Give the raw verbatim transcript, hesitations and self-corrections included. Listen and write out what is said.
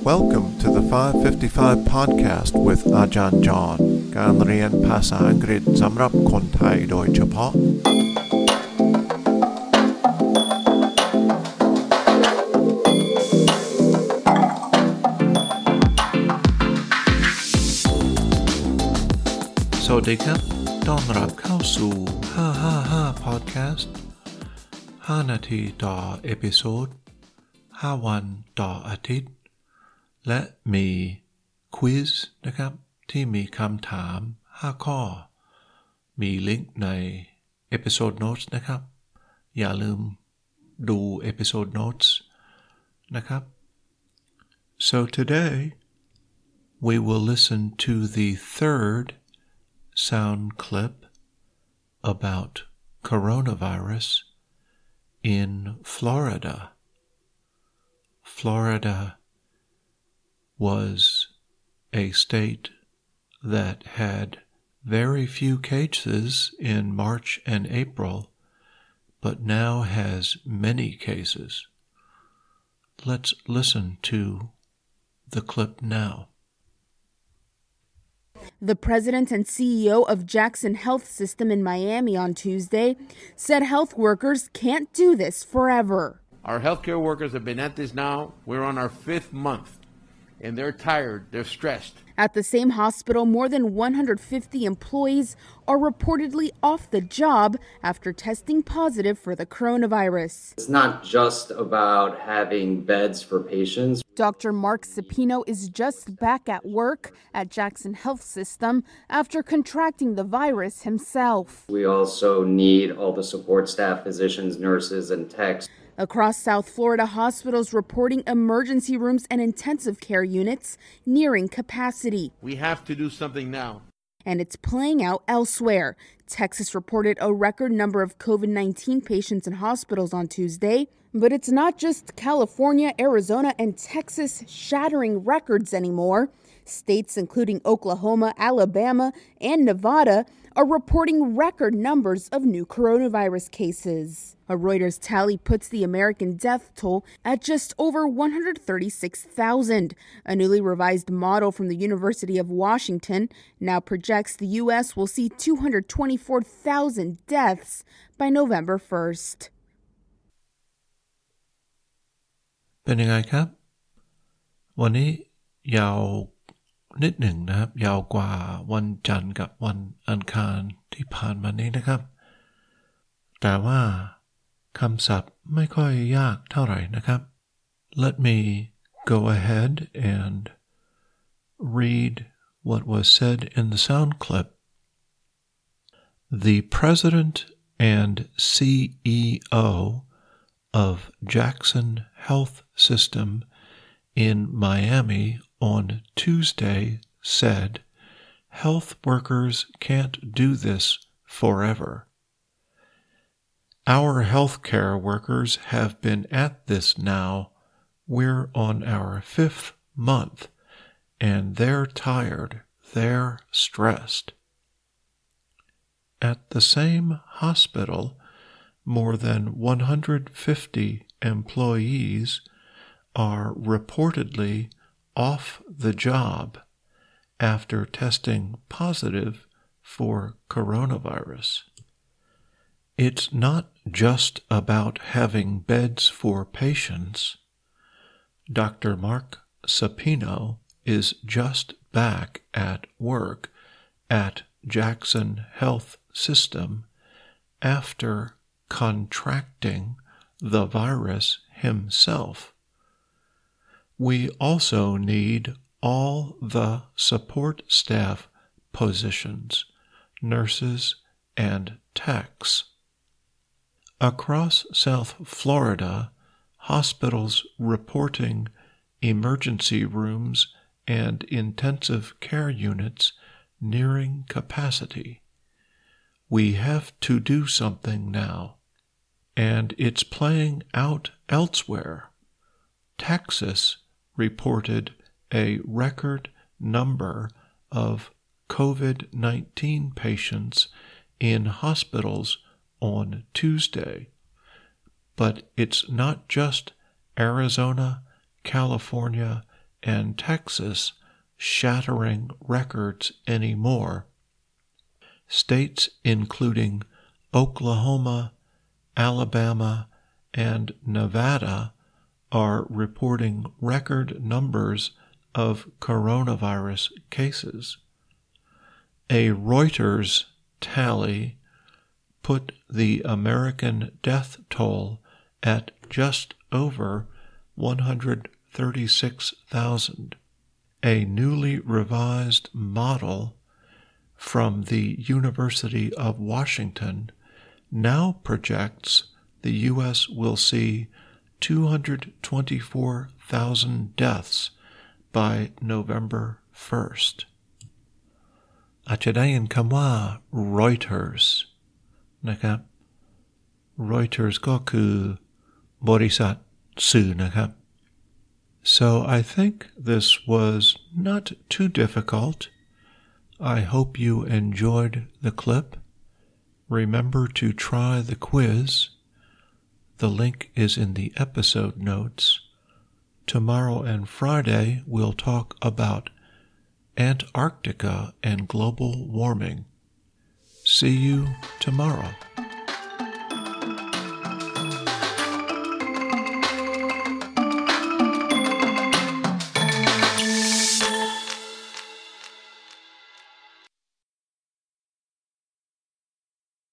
Welcome to the five fifty-five podcast with อาจารย์จอห์นการเรียนภาษาอังกฤษสำหรับคนไทยโดยเฉพาะสวัสดีครับต้อนรับเข้าสู่ห้าห้าห้า podcast ห้านาทีต่อเอพิโซดห้าวันต่ออาทิตย์และมีควิซนะครับที่มีคำถามห้าข้อมีลิงก์ในเอพิโซดโน้ตนะครับอย่าลืมดูเอพิโซดโน้ตนะครับ so today we will listen to the third sound clip about coronavirus in Florida. Florida was a state that had very few cases in March and April, but now has many cases. Let's listen to the clip now. The president and C E O of Jackson Health System in Miami on Tuesday said health workers can't do this forever. Our healthcare workers have been at this now. We're on our fifth month, and they're tired. They're stressed. At the same hospital, more than one hundred fifty employees are reportedly off the job after testing positive for the coronavirus. It's not just about having beds for patients. Doctor Mark Cepino is just back at work at Jackson Health System after contracting the virus himself. We also need all the support staff, physicians, nurses, and techs. Across South Florida, hospitals reporting emergency rooms and intensive care units nearing capacity. We have to do something now. And it's playing out elsewhere. Texas reported a record number of COVID nineteen patients in hospitals on Tuesday. But it's not just California, Arizona, and Texas shattering records anymore. States including Oklahoma, Alabama, and Nevada are reporting record numbers of new coronavirus cases. A Reuters tally puts the American death toll at just over one hundred thirty-six thousand. A newly revised model from the University of Washington now projects the U S will see two hundred twenty-four thousand deaths by November first. เป็นยังไงครับวันนี้ยาวนิดหนึ่งนะครับยาวกว่าวันจันทร์กับวันอังคารที่ผ่านมานี้นะครับแต่ว่าคำศัพท์ไม่ค่อยยากเท่าไหร่นะครับ Let me go ahead and read what was said in the sound clip. The president and C E O of Jackson Health System in Miami on Tuesday said, health workers can't do this forever. Our healthcare workers have been at this now. We're on our fifth month, and they're tired. They're stressed. At the same hospital, more than one hundred fifty employees are reportedly off the job after testing positive for coronavirus. It's not just about having beds for patients. Doctor Mark Cepino is just back at work at Jackson Health System after contracting the virus himself. We also need all the support staff positions, nurses, and techs. Across South Florida, hospitals reporting emergency rooms and intensive care units nearing capacity. We have to do something now, and it's playing out elsewhere. Texas reported a record number of COVID nineteen patients in hospitals on Tuesday. But it's not just Arizona, California, and Texas shattering records anymore. States including Oklahoma, Alabama, and Nevada are reporting record numbers of coronavirus cases. A Reuters tally put the American death toll at just over one hundred thirty-six thousand. A newly revised model from the University of Washington now projects the U S will see two hundred twenty-four thousand deaths by November first. อาจจะได้ยินคำว่า Reuters นะครับ Reuters ก็คือบริษัทสื่อนะครับ So I think this was not too difficult. I hope you enjoyed the clip. Remember to try the quiz. The link is in the episode notes. Tomorrow and Friday we'll talk about Antarctica and global warming. See you tomorrow.